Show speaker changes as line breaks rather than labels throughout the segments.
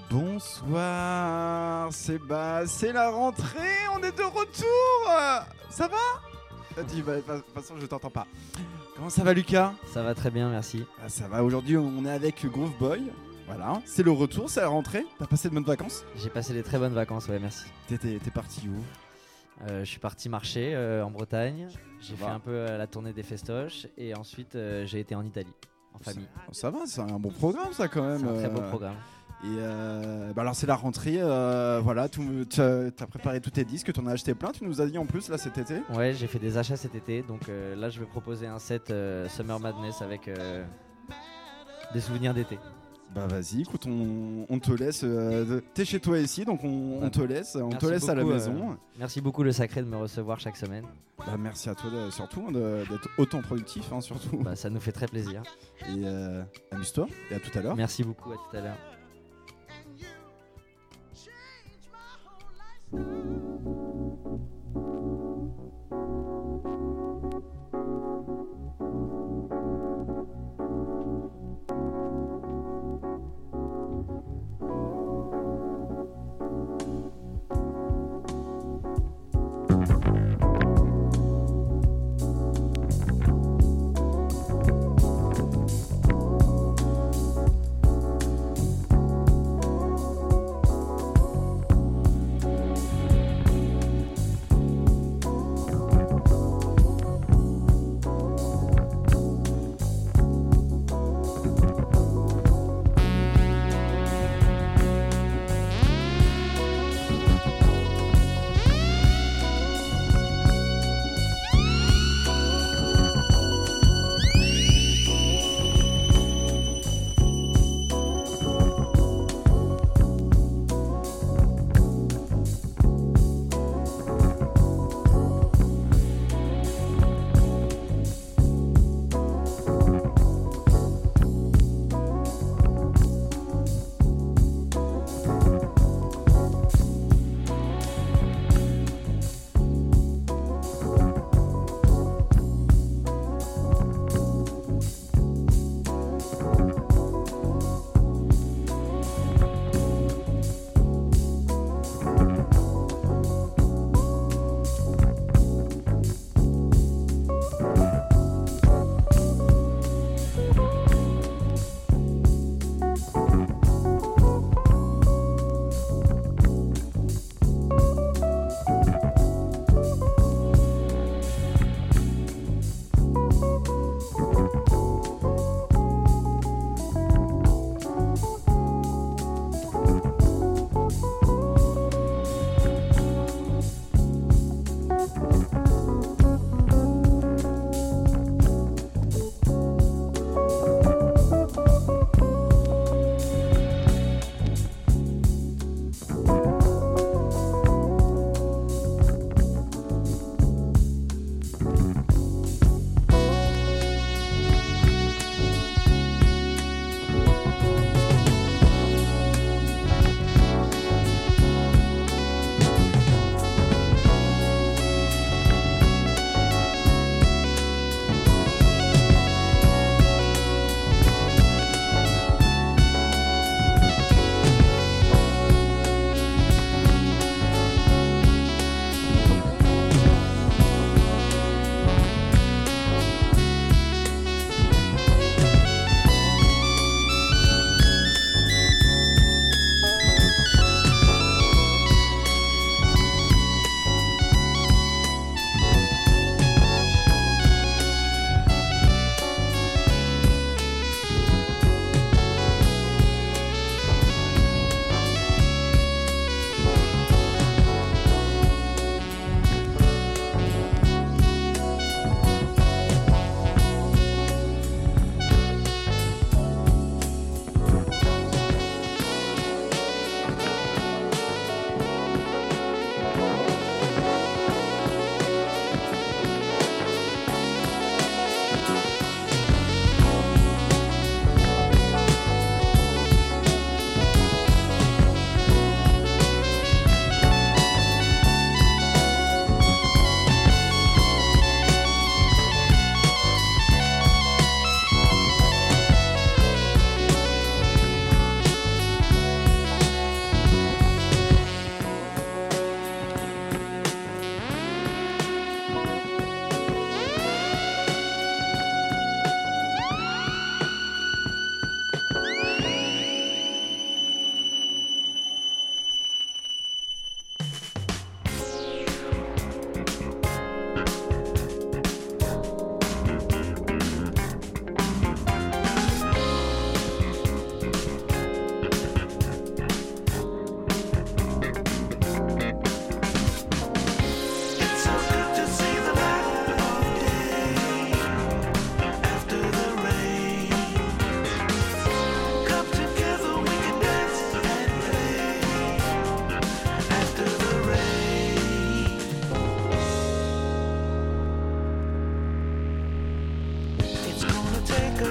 Bonsoir, c'est la rentrée, on est de retour. Ça va? Dis, de toute façon je t'entends pas. Comment ça va Lucas?
Ça va très bien, merci.
Ça va, aujourd'hui on est avec Groove Boy. Voilà, c'est le retour, c'est la rentrée. T'as passé de bonnes vacances?
J'ai passé des très bonnes vacances, ouais, merci.
T'es parti où?
Je suis parti marcher en Bretagne. J'ai fait un peu la tournée des festoches et ensuite j'ai été en Italie, en famille.
Ça va, c'est un bon programme ça quand même.
C'est un très beau programme.
Et alors c'est la rentrée, voilà, t'as préparé tous tes disques, t'en as acheté plein, tu nous as dit en plus là cet été.
Ouais, j'ai fait des achats cet été, donc là je vais proposer un set Summer Madness avec des souvenirs d'été.
Bah vas-y, écoute, on te laisse, t'es chez toi ici, donc on te laisse, à la maison.
Merci beaucoup le Sacré de me recevoir chaque semaine.
Bah merci à toi surtout d'être autant productif, hein, surtout.
Bah, ça nous fait très plaisir.
Et amuse-toi, et à tout à l'heure.
Merci beaucoup, à tout à l'heure.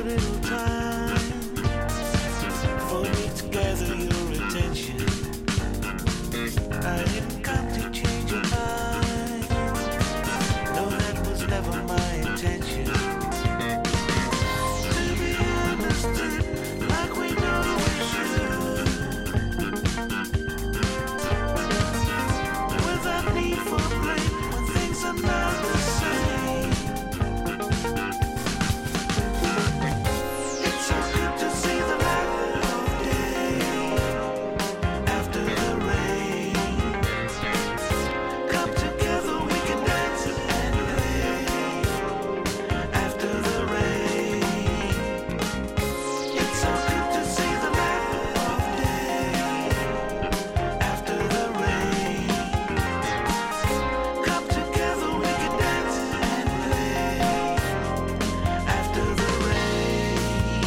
little time for me to gather your attention. I didn't come to change your mind. No, that was never my intention. To be understood like we know we should, without need for blame when things are not the same. It's so good to see the light of day after the rain. Come together, we can dance and play after the rain. It's so good to see the light of day after the rain. Come together, we can dance and play after the rain.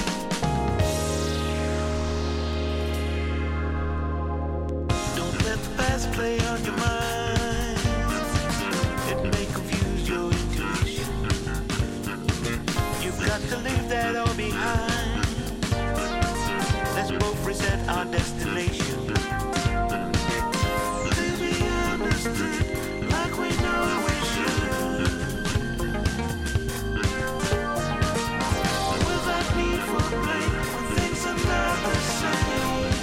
Don't let the past play on your mind. It may confuse your intuition. You've got to leave that all behind. Let's both reset our destination. To be understood like we know we should, without need for blame when things are not the same.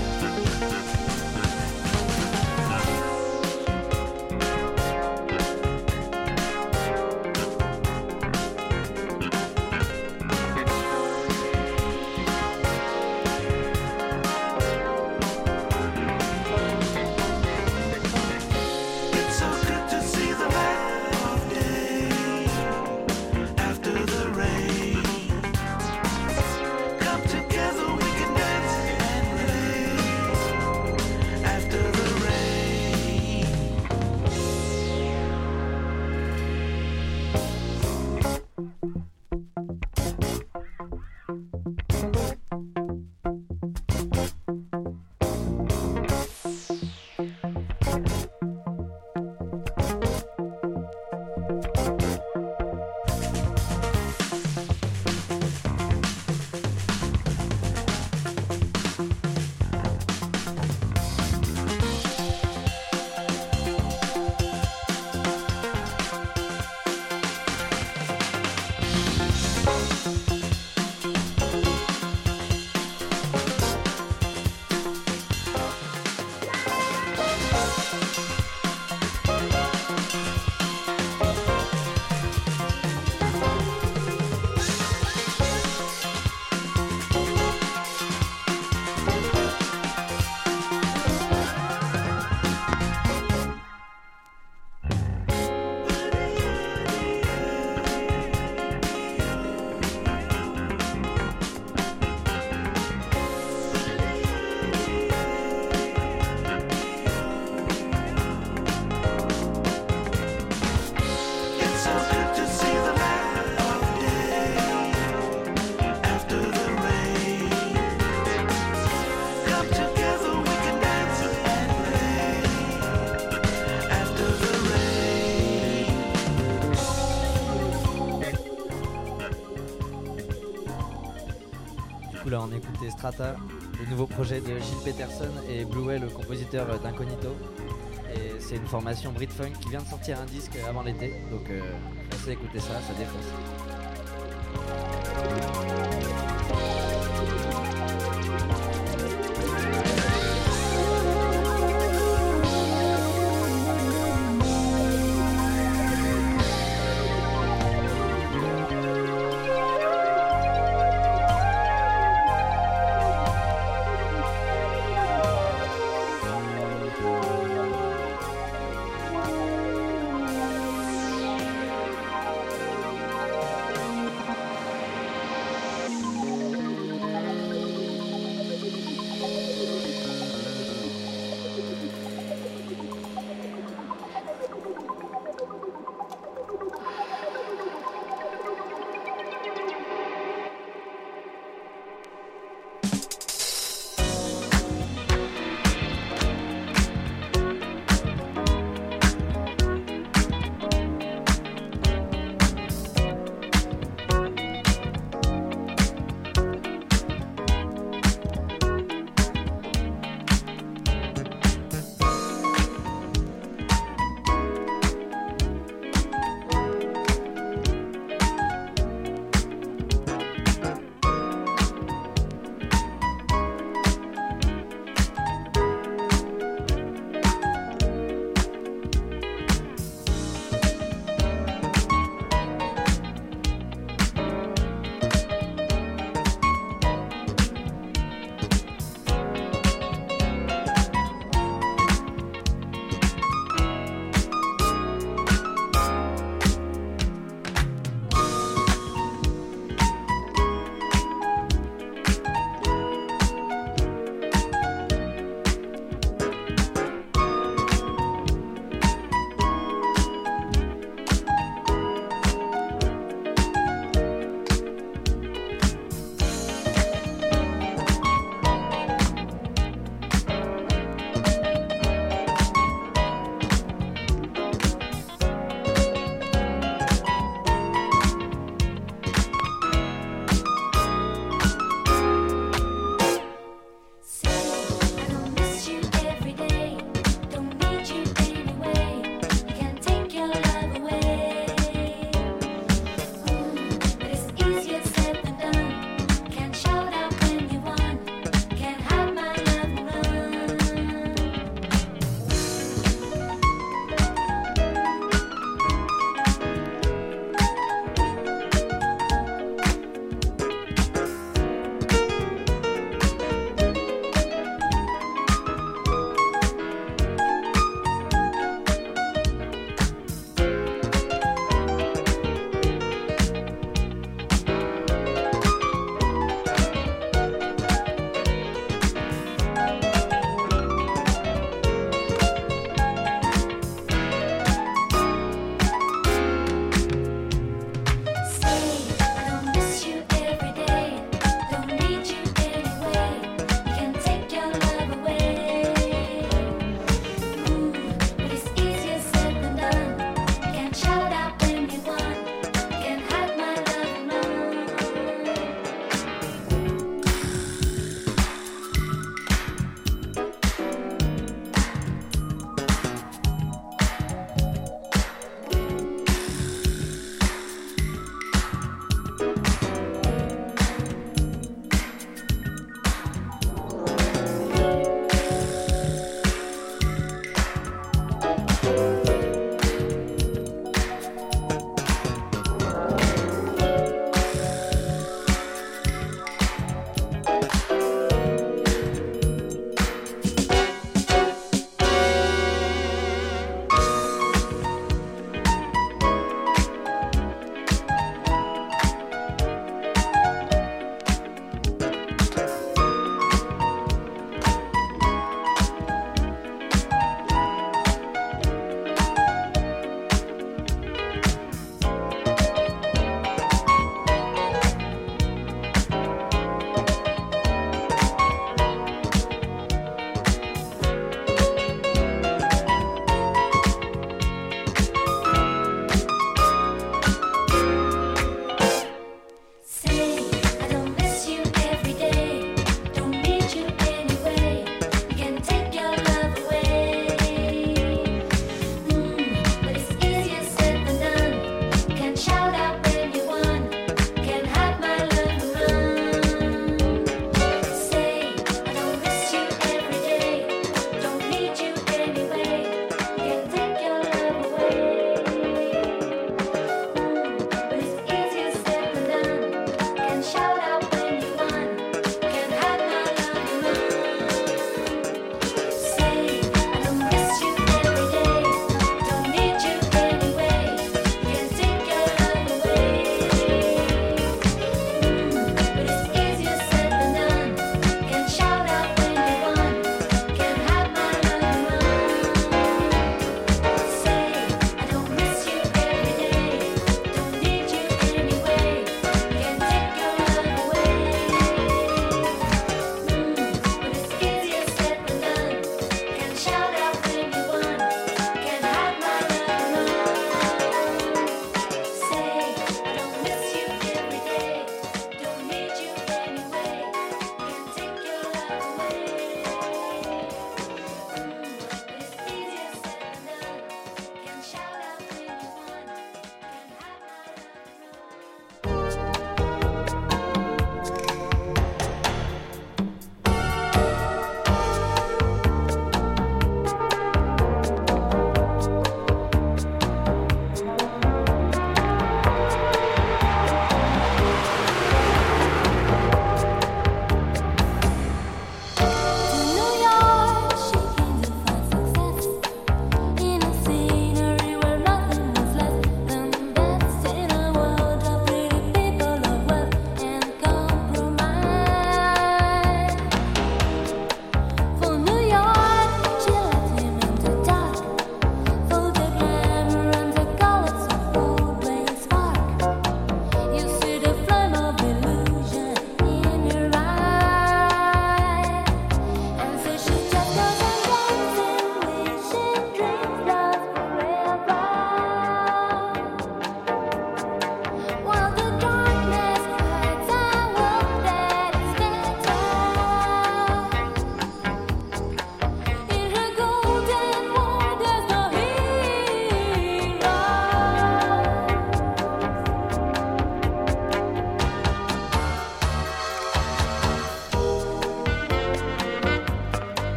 It's so good to see the light of day after the rain. Come together, we can dance and play after the rain. It's so good to see the light of day after the rain. Come together, we can dance and play after the rain.
Du coup là on écoutait Strata, le nouveau projet de Gilles Peterson et Blueway, le compositeur d'Incognito. Et c'est une formation Brit-Funk qui vient de sortir un disque avant l'été, donc pensez à écouter ça, ça défonce.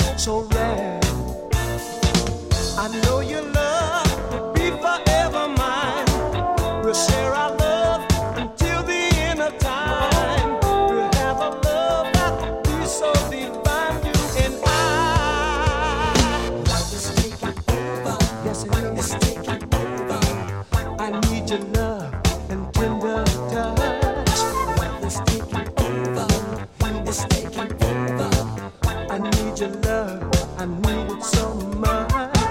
so rare. I know your love will be forever mine. We'll share our love until the end of time. We'll have a love that will be so divine, you and I. Love is taking over, yes it is taking over. I need your love and tender touch. Love is taking over, it's taking over. I need your love, I need it so much.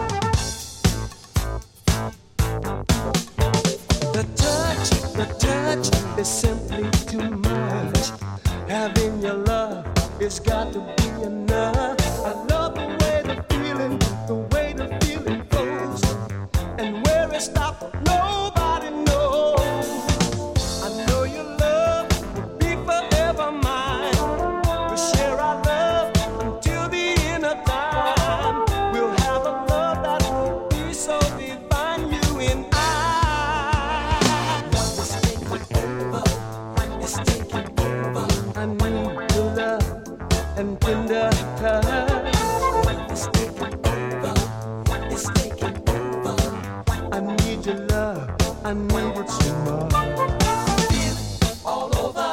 The touch is simply too much. Having your love, it's got to be enough. I love the way the feeling goes, and where it stops, nobody knows. I know your love will be forever mine. We'll share our love until the end of time. We'll have a love that will be so divine, you and I. Love is taking over, it's taking over. I need your love and tender touch. Love is taking over, it's taking over. I need your love, I need it so much. Feel it all over.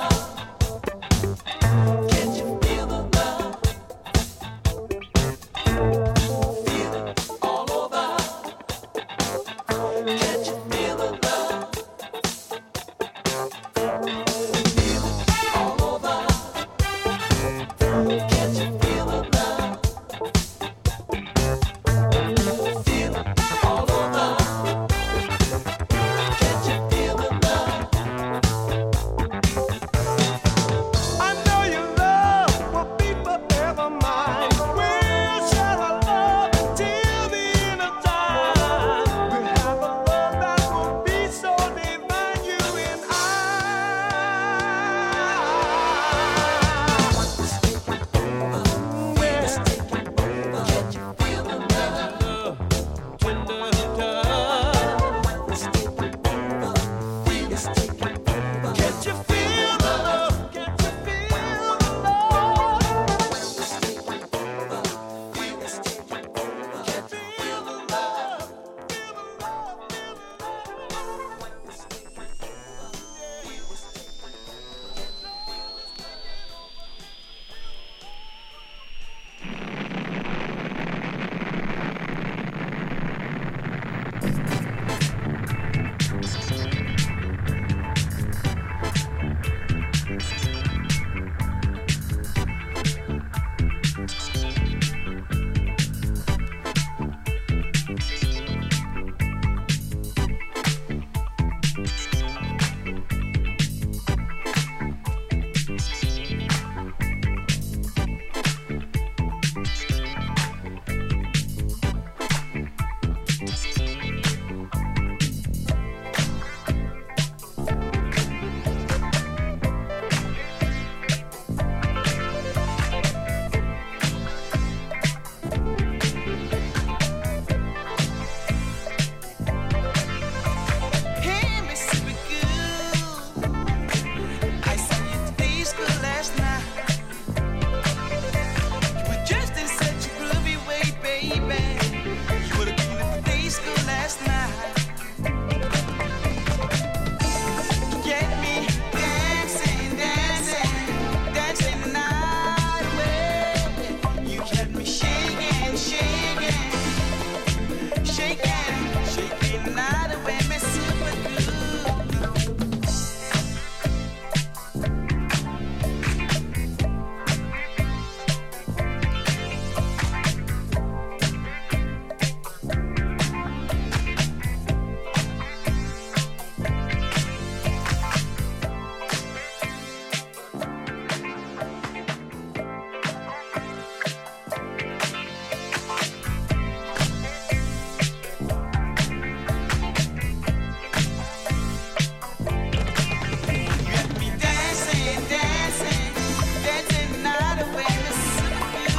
Can't you feel the love? Feel it all over. Can't you feel the love? Feel it all over. Can't you feel the love? Feel it all over. Can't you feel the love? I know your love will be forever mine. We'll share our love until the end of time. We'll have a love that will be so divine, you and I. It's taking over, it's taking over. Can't you feel the love? Tender touch. It's taking over, it's taking over. Can't you feel the love? Can't you feel the love? It's taking over, it's taking over. Can't you feel the love? Feel the love, feel the love. It's taking over, it's Hey, Mississippi girl, I saw you at the disco last night. You were dressed in such a groovy way, baby. You were looking at the disco last night. You get me dancing, dancing, dancing the night away. You had me shaking, shaking, shaking, shaking the night away, Mississippi girl. You had me dancing, dancing, dancing the night away, Mississippi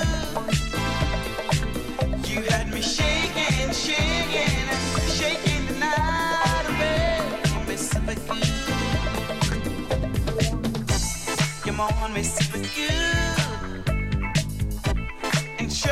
girl. You had me shaking, shaking, shaking the night away, Mississippi girl. Come on, Mississippi girl, and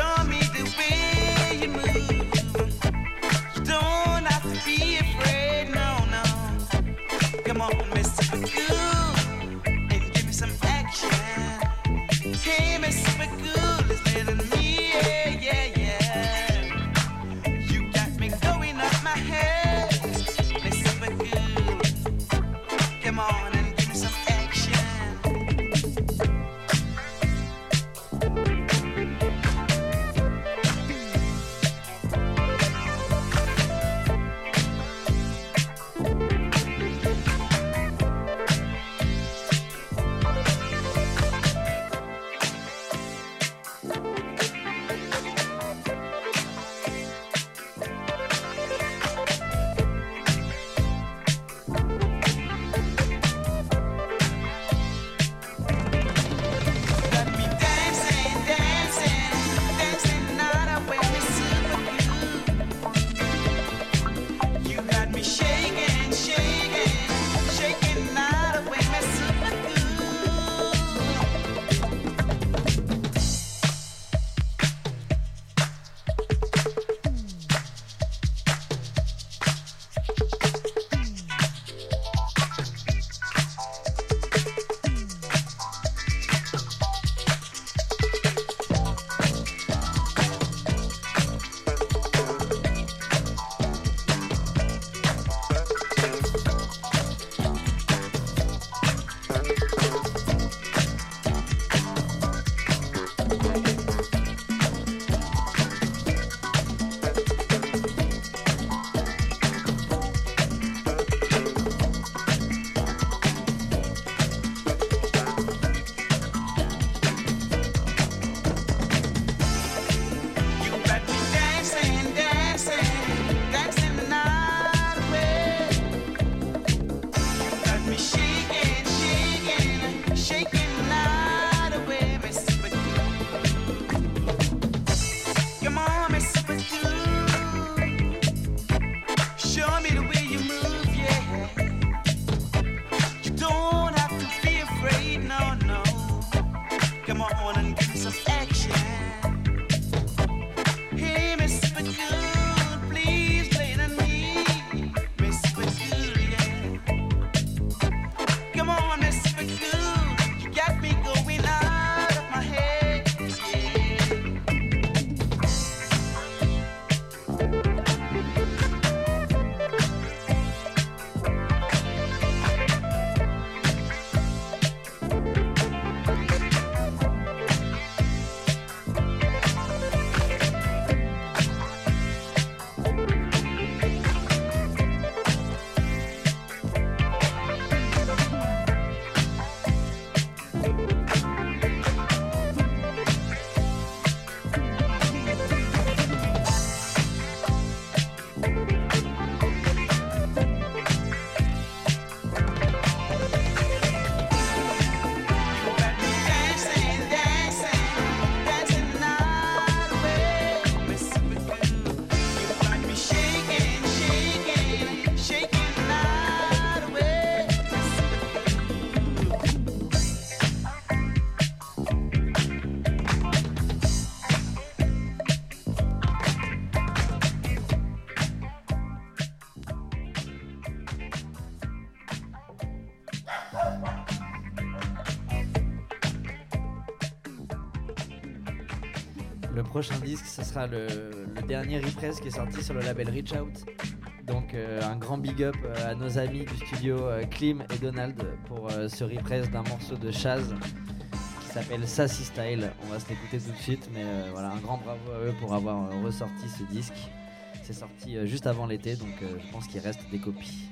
prochain disque, ce sera le dernier Repress qui est sorti sur le label Reach Out. Donc un grand big up à nos amis du studio Klim et Donald pour ce Repress d'un morceau de Chaz qui s'appelle Sassy Style. On va se l'écouter tout de suite, mais voilà, un grand bravo à eux pour avoir ressorti ce disque. C'est sorti juste avant l'été, donc je pense qu'il reste des copies.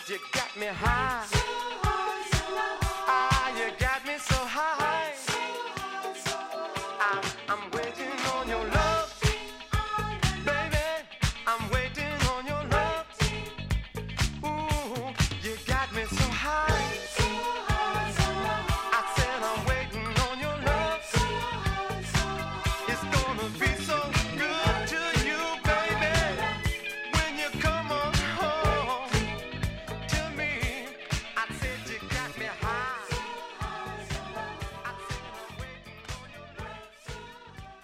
you got me high. Ah, you got me so high. I'm waiting on your love, baby. I'm waiting on your love. Ooh, you got me so high. I said I'm waiting on your love. It's gonna be so good to you, baby, when you come on home to me. I said you got me high. I said I'm waiting on your love.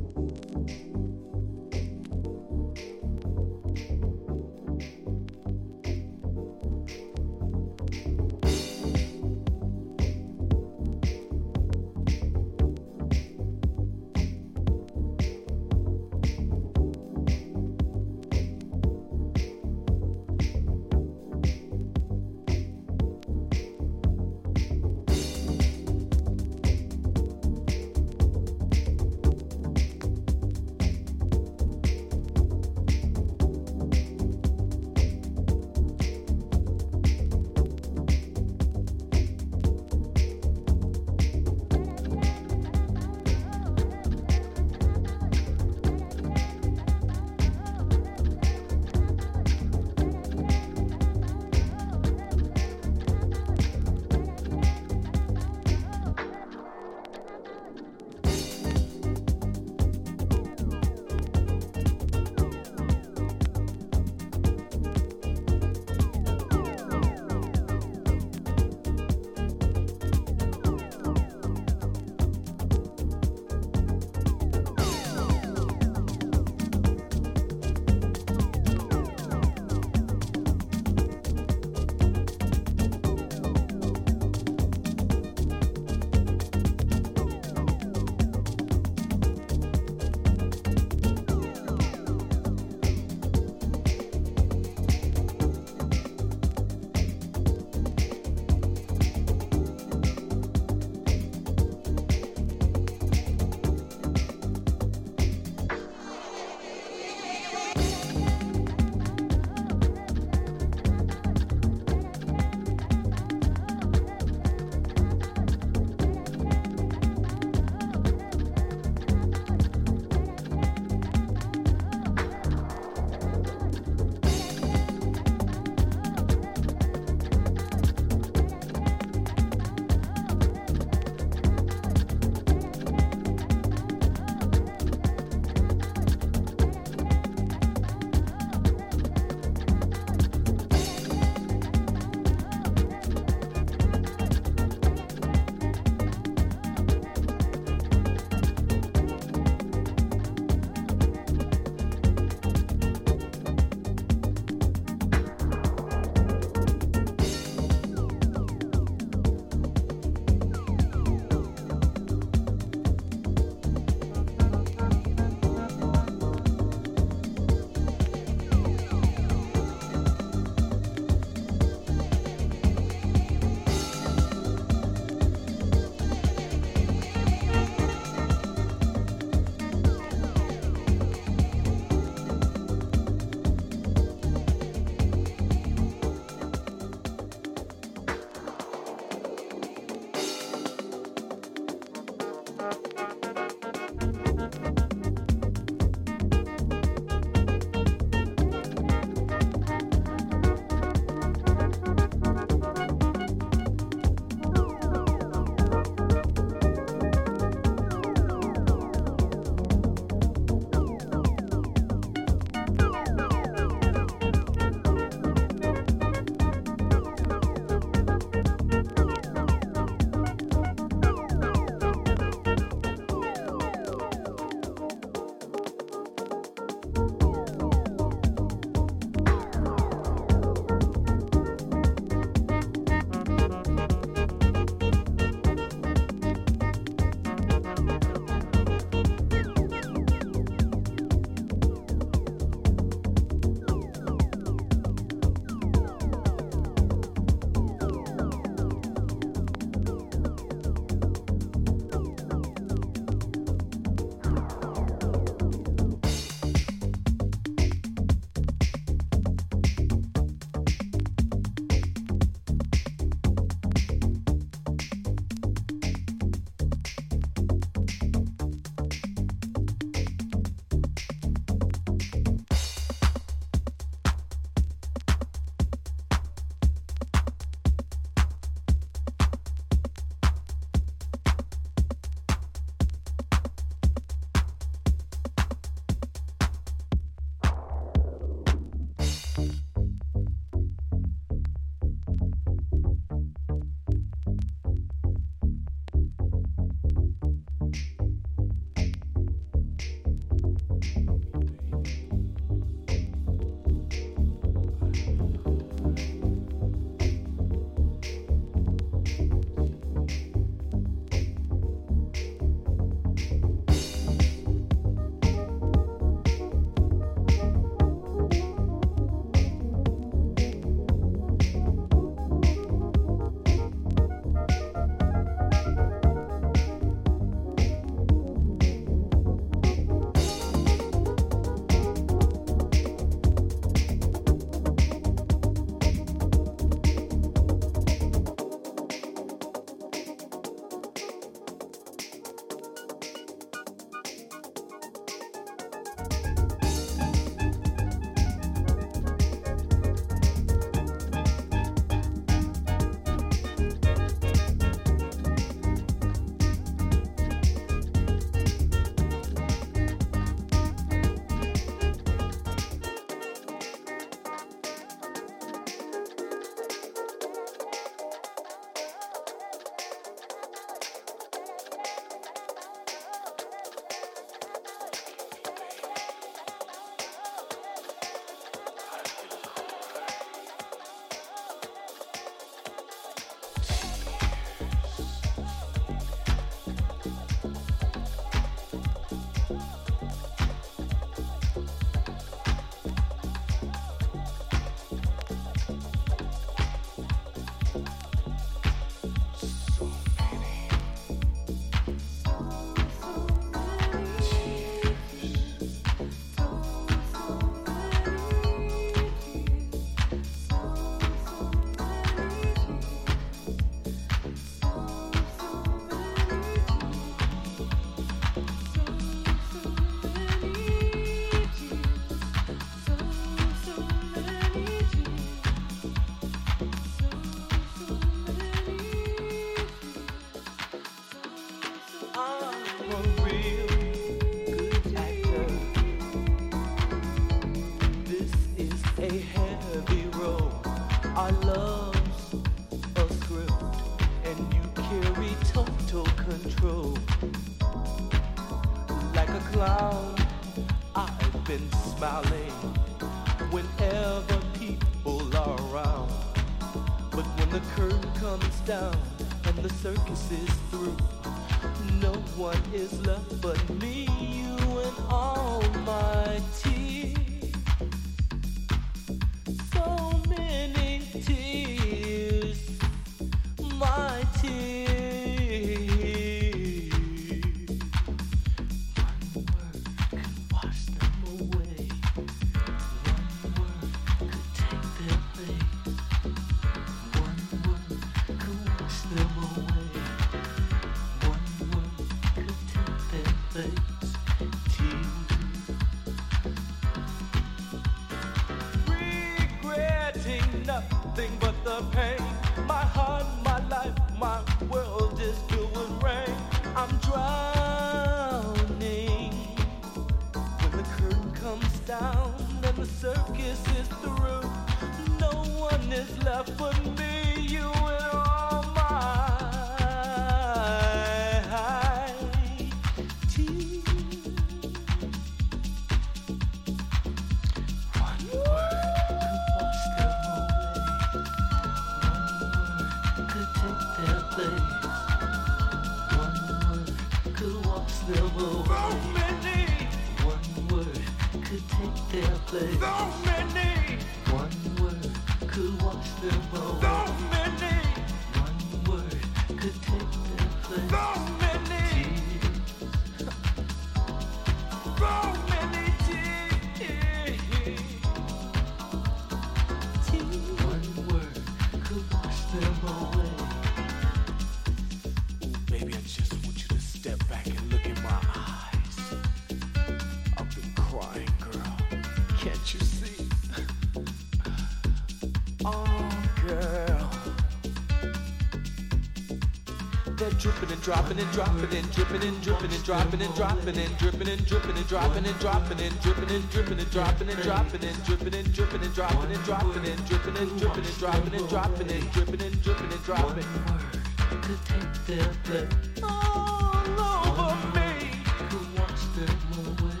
Dropping and dropping and dripping and dripping and dropping and dropping and dripping and dripping and dropping and dropping and dripping and dripping and dropping and dropping and dripping and dripping and dropping and dropping and dripping and dripping and dropping and dropping and dripping and dripping and dropping.
Could take their place
all over me.
Could watch them away.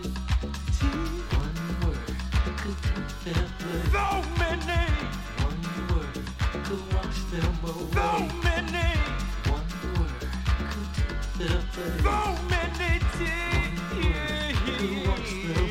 One word could take their place.
So many.
One word could watch them away.
So many. So many tears.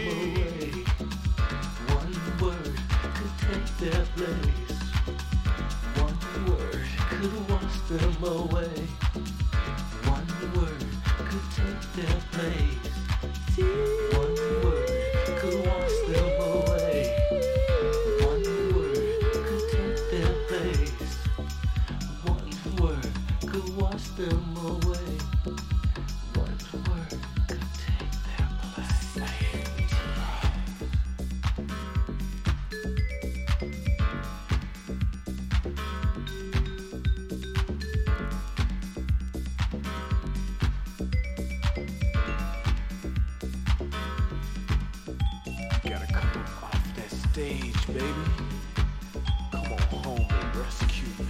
One word could take their place. One word could wash them away. One word could take their place. One word could wash them away. One word could take their place. One word could wash them away. One word could take their place.
stage, baby. Come on home and rescue me.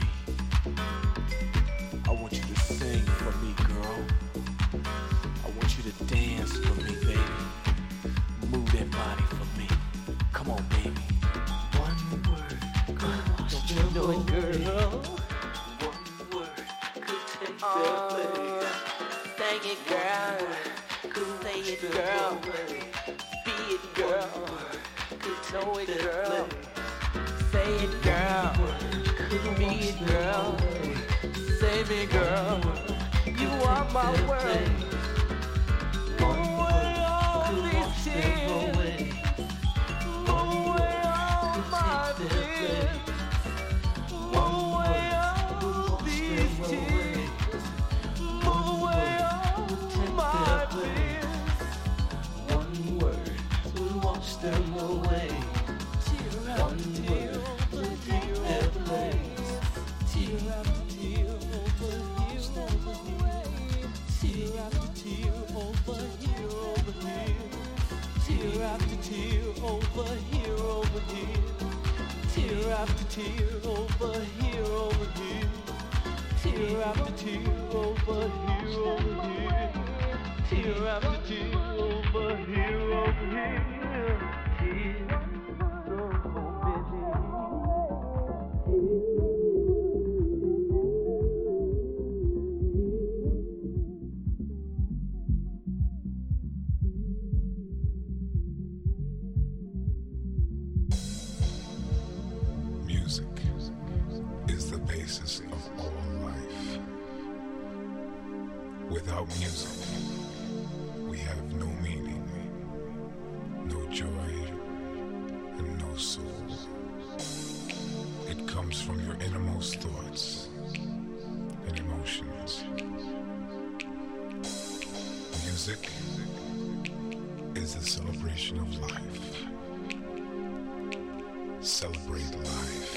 I want you to sing for me, girl. I want you to dance for me, baby. Move that body for me. Come on, baby. One word could wash the whole girl. One word could take the place.
Sing it, girl. Say it, girl. Be it, girl. Know it, girl. Say it, girl. Be it, girl. Say me, girl. You are my world. Move away all these tears. Move away all my fears. Move away all these tears. Move away all my fears. One word will wash them away. Tear after tear will take their place. Tear after tear over here, over here. Tear after tear over here, over here. Tear after tear over here, over here. Tear after tear over here, over here. Tear after tear over here, over here. Tear after tear over here, over here. Tears so busy.
Music is the basis of all life. Without music, we have no meaning, no joy, and no soul. It comes from your innermost thoughts and emotions. Music is the celebration of life. Celebrate life.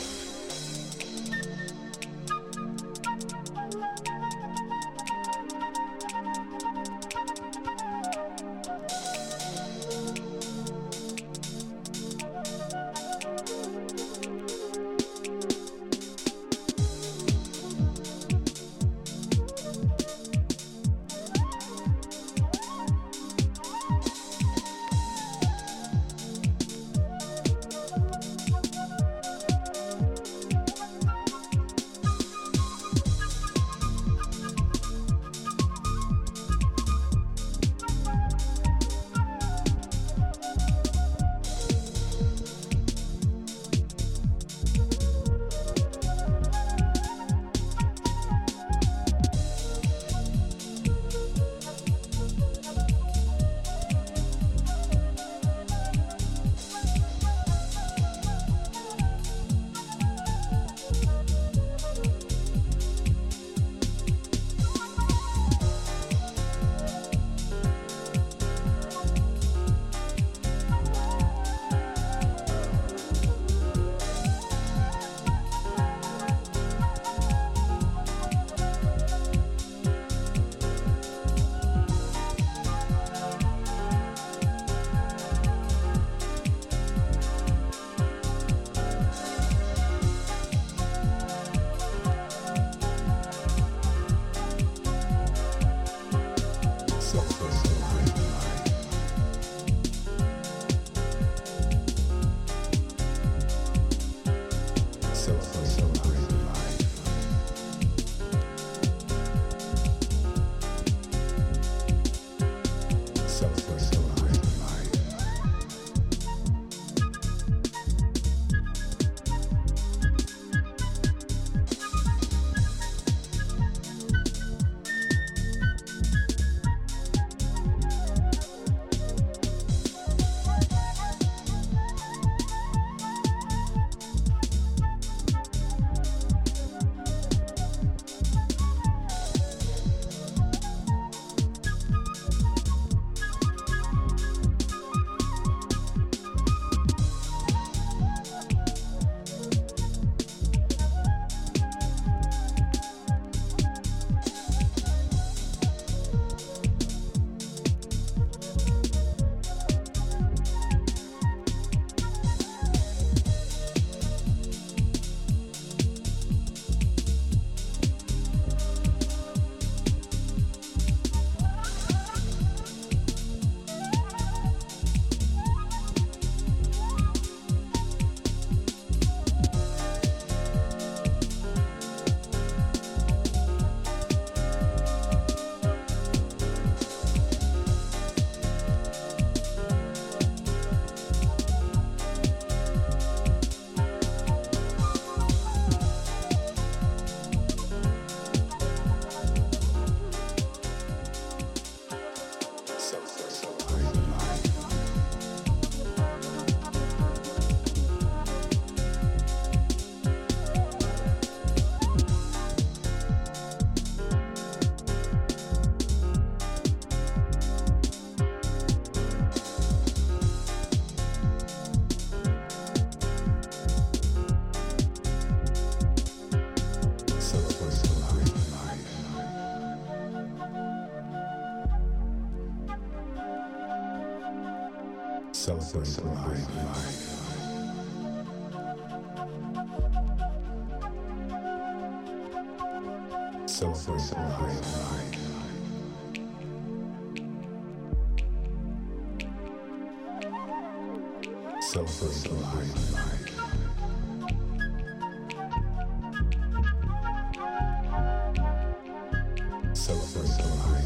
Celebrate life. Celebrate life. Celebrate life. Celebrate life.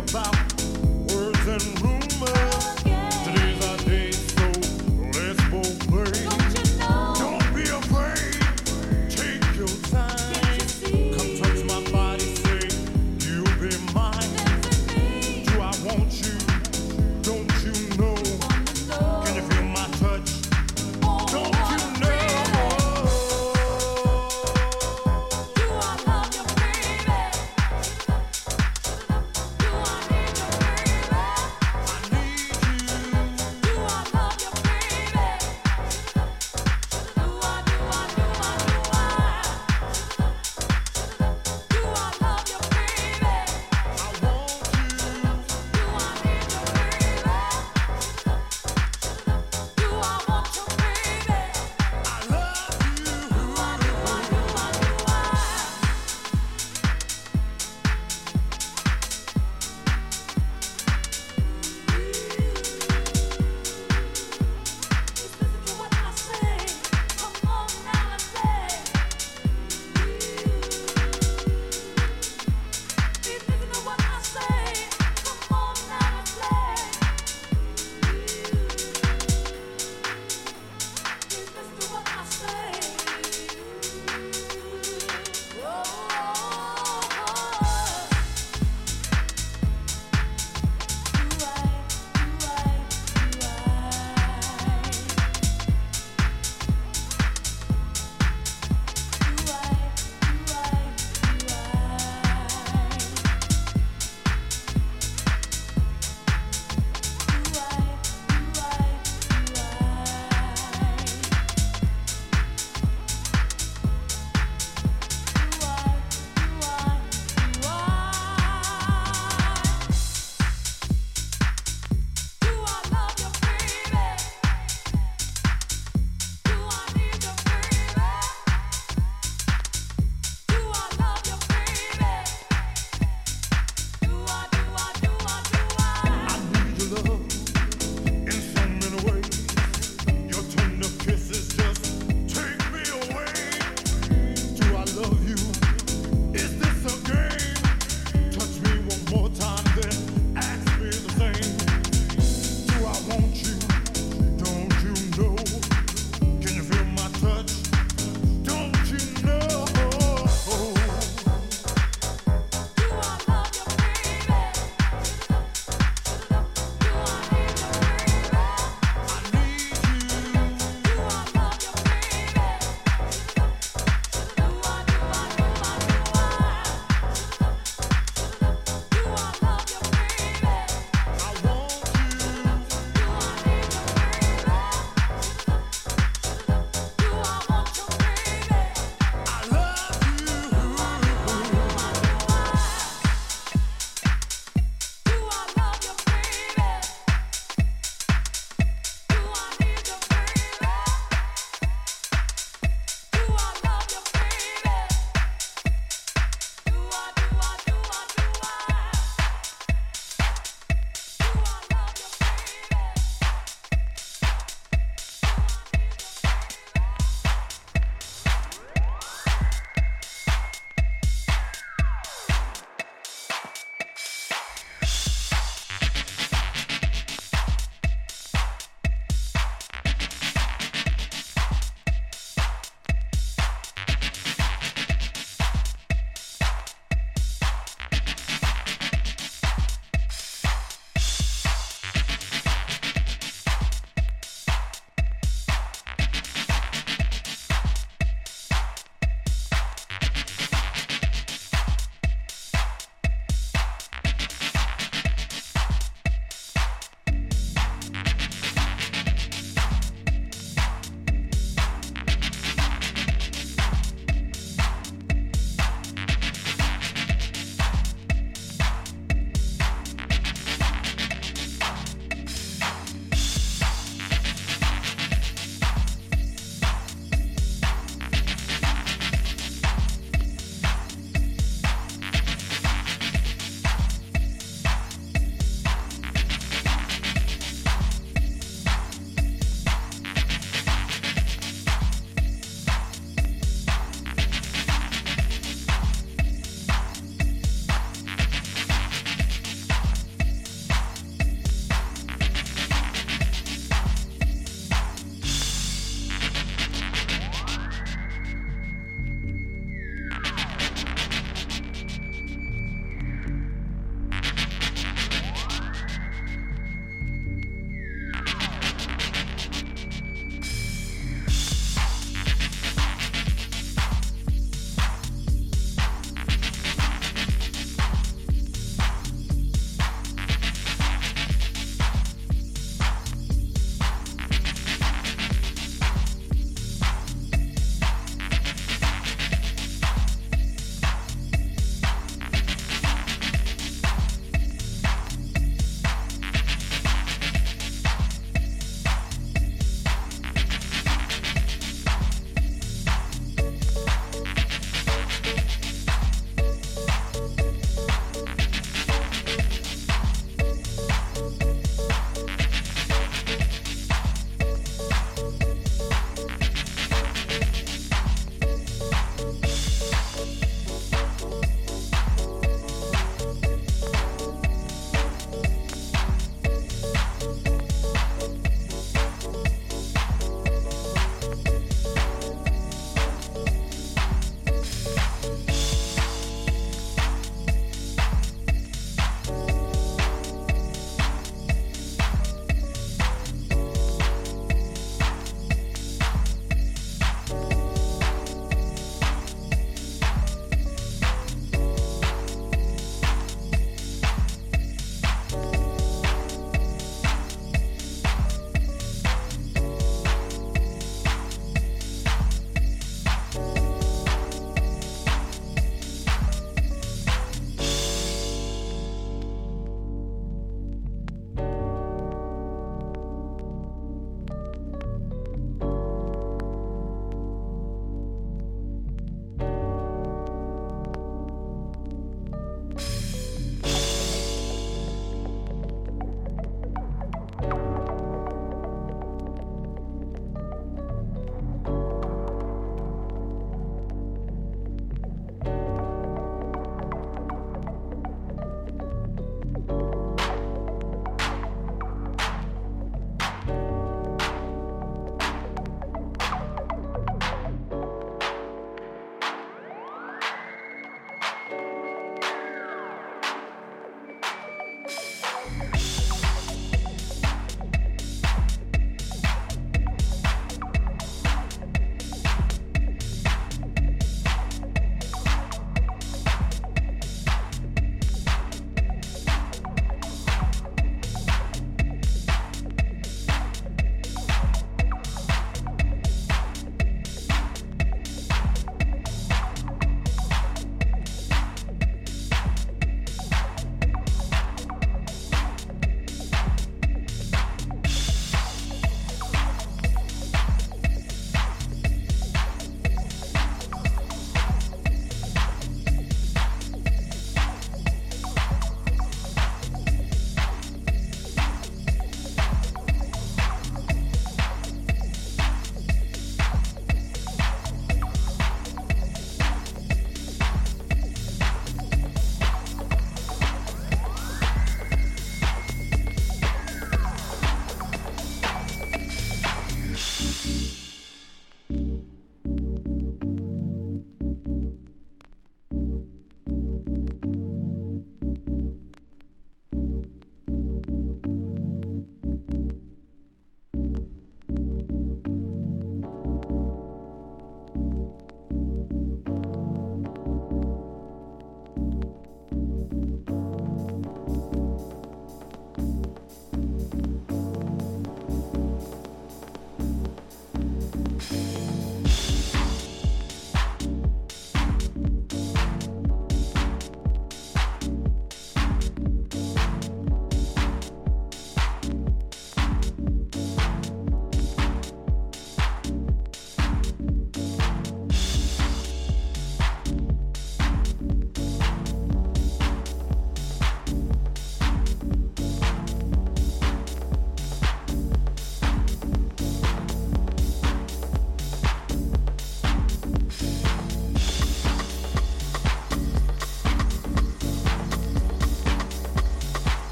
about words and rumors. Today's our day, so let's both play. Don't be afraid, take your time. Come touch my body, say you'll be mine. Do I want you? Don't you know? Can you feel my touch? Don't you know? Do I love you, baby? Do I need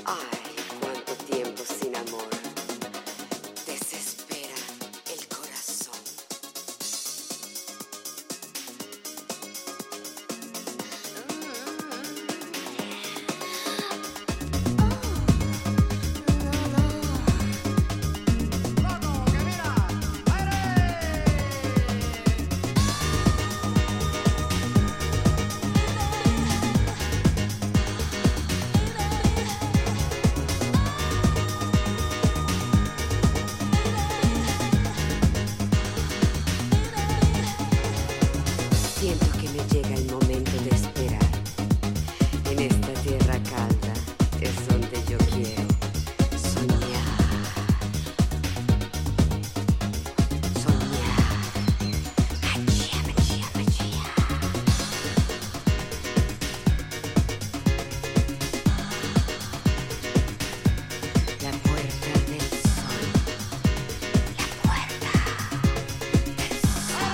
Ay, cuánto tiempo sin amor. Desespera el corazón. Siento que me llega el momento de esperar. En esta tierra calda es donde yo quiero soñar. Soñar. Machía, machía, machía. La puerta del sol. La puerta del sol.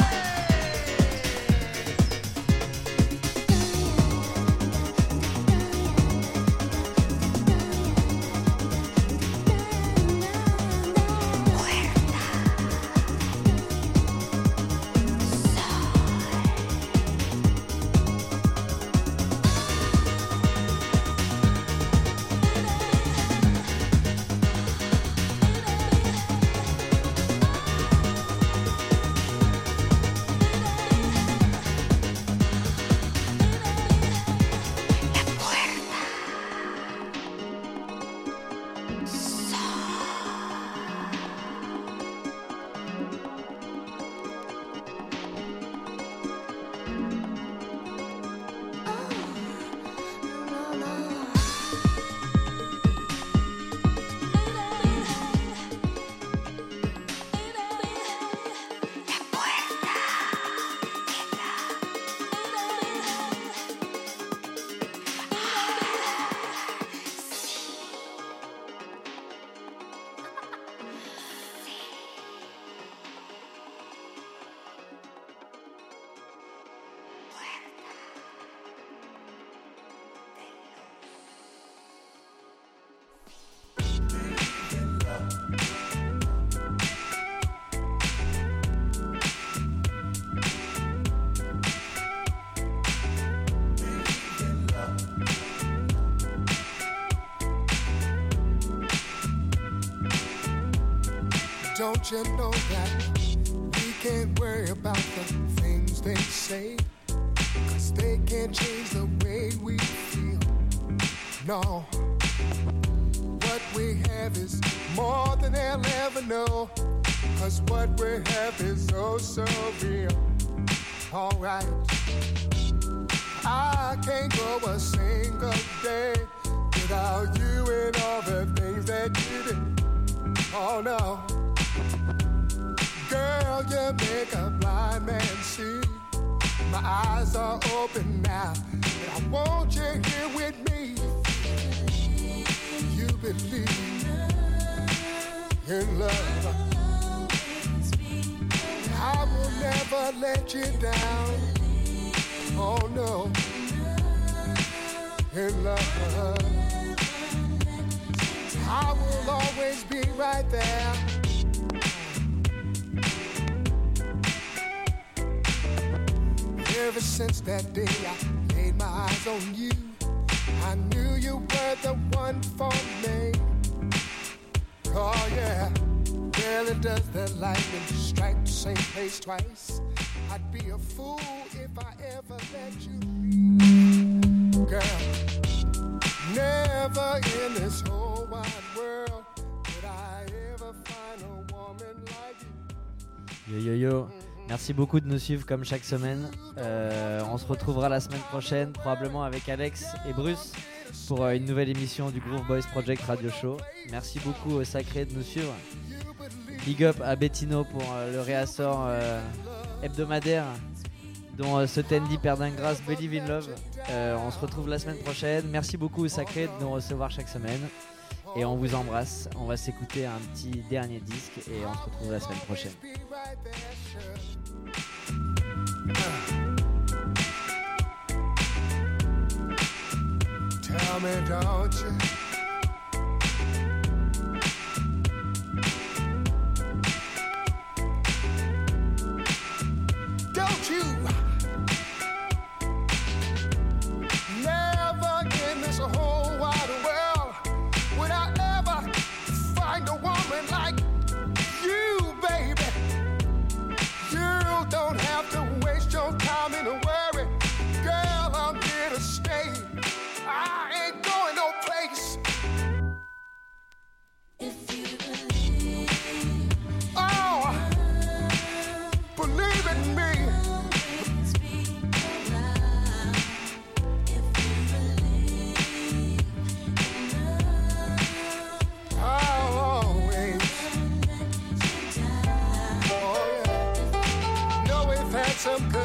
Don't you know that we can't worry about the things they say? 'Cause they can't change the way we feel. No, what we have is more than they'll ever know. 'Cause what we have is oh so real. Alright, I can't go a single day without you and all the things that you do. Oh no, girl, you make a blind man see. My eyes are open now, and I want you here with me. You believe in love. I will never let you down. Oh no, in love. I will always be right there. Ever since that day I laid my eyes on you, I knew you were the one for me. Oh yeah, rarely does the lightning strike the same place twice. I'd be a fool if I ever let you leave. Girl, never in this whole wide world would I ever find a woman like you.
Yo yo yo, merci beaucoup de nous suivre comme chaque semaine. On se retrouvera la semaine prochaine, probablement avec Alex et Bruce, pour une nouvelle émission du Groove Boys Project Radio Show. Merci beaucoup au Sacré de nous suivre. Big up à Bettino pour le réassort hebdomadaire dont ce Tendi Perdingras Believe in Love. On se retrouve la semaine prochaine. Merci beaucoup au Sacré de nous recevoir chaque semaine. Et on vous embrasse. On va s'écouter un petit dernier disque et on se retrouve la semaine prochaine.
Tell me, don't you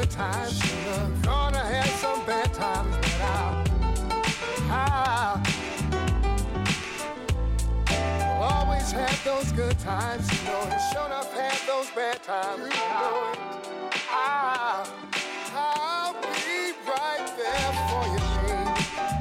good times. Gonna have some bad times, but I'll always have those good times, you know, and sure enough have those bad times, you know it. I'll be right there for you, babe.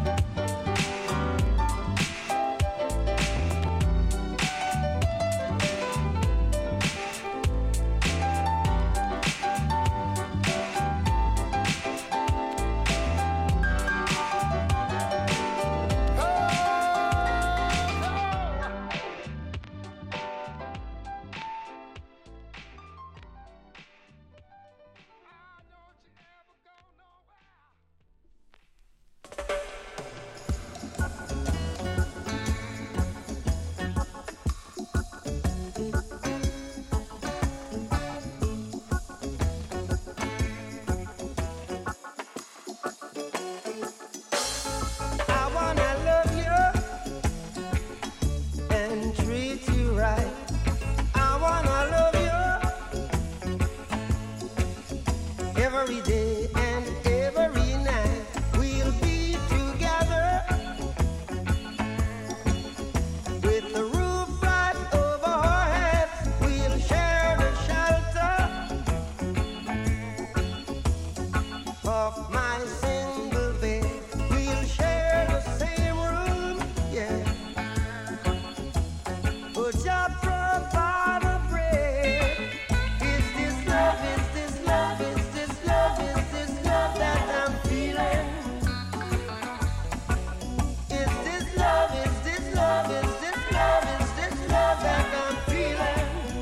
Every day and every night we'll be together with the roof right over our heads. We'll share the shelter of my single bed. We'll share the same room, yeah. But just provide the bread. Is this love? Is this love? Is this love? Is this love that I'm feeling? Is this love? Is this love? Is this love? Is this love that I'm feeling?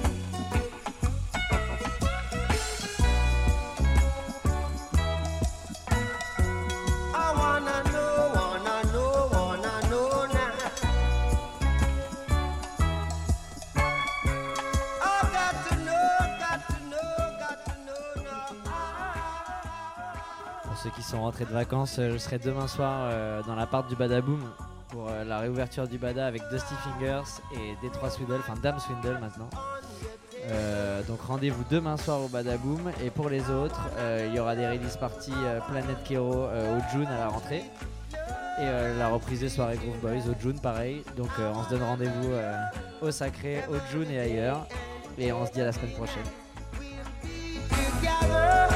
I wanna know now. I got to know now.
Pour ceux qui sont rentrés de vacances, je serai demain soir dans l'appart du Badaboom pour la réouverture du Bada avec Dusty Fingers et Détroit Swindle, enfin Dame Swindle maintenant. Donc rendez-vous demain soir au Badaboom, et pour les autres, il y aura des release parties Planet Kero au June à la rentrée, et la reprise des soirées Groove Boys au June pareil. Donc on se donne rendez-vous au Sacré, au June et ailleurs, et on se dit à la semaine prochaine.
Together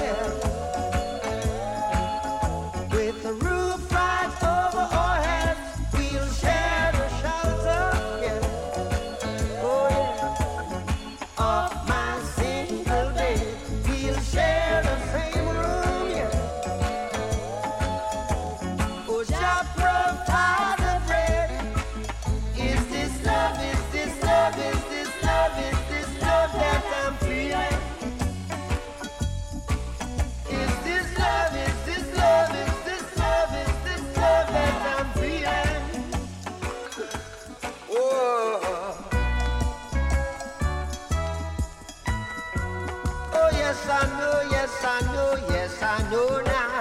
with the roof right over our heads, we'll share the shelter, yeah. Oh yeah, of my single bed. We'll share the same room, yeah. Oh, just provide the bread. Is this love? Is this love? Is this love? Is this love that I'm feeling? Is this love? Is this love? Is this love? Is this love that I'm feeling? Oh, oh yes I know, yes I know, yes I know now.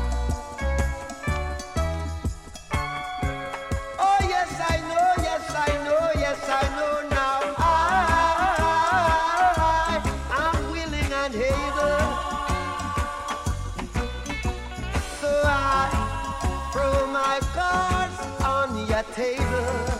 Oh yes I know, yes I know, yes I know now. I'm willing and able. So I throw my cards on your table.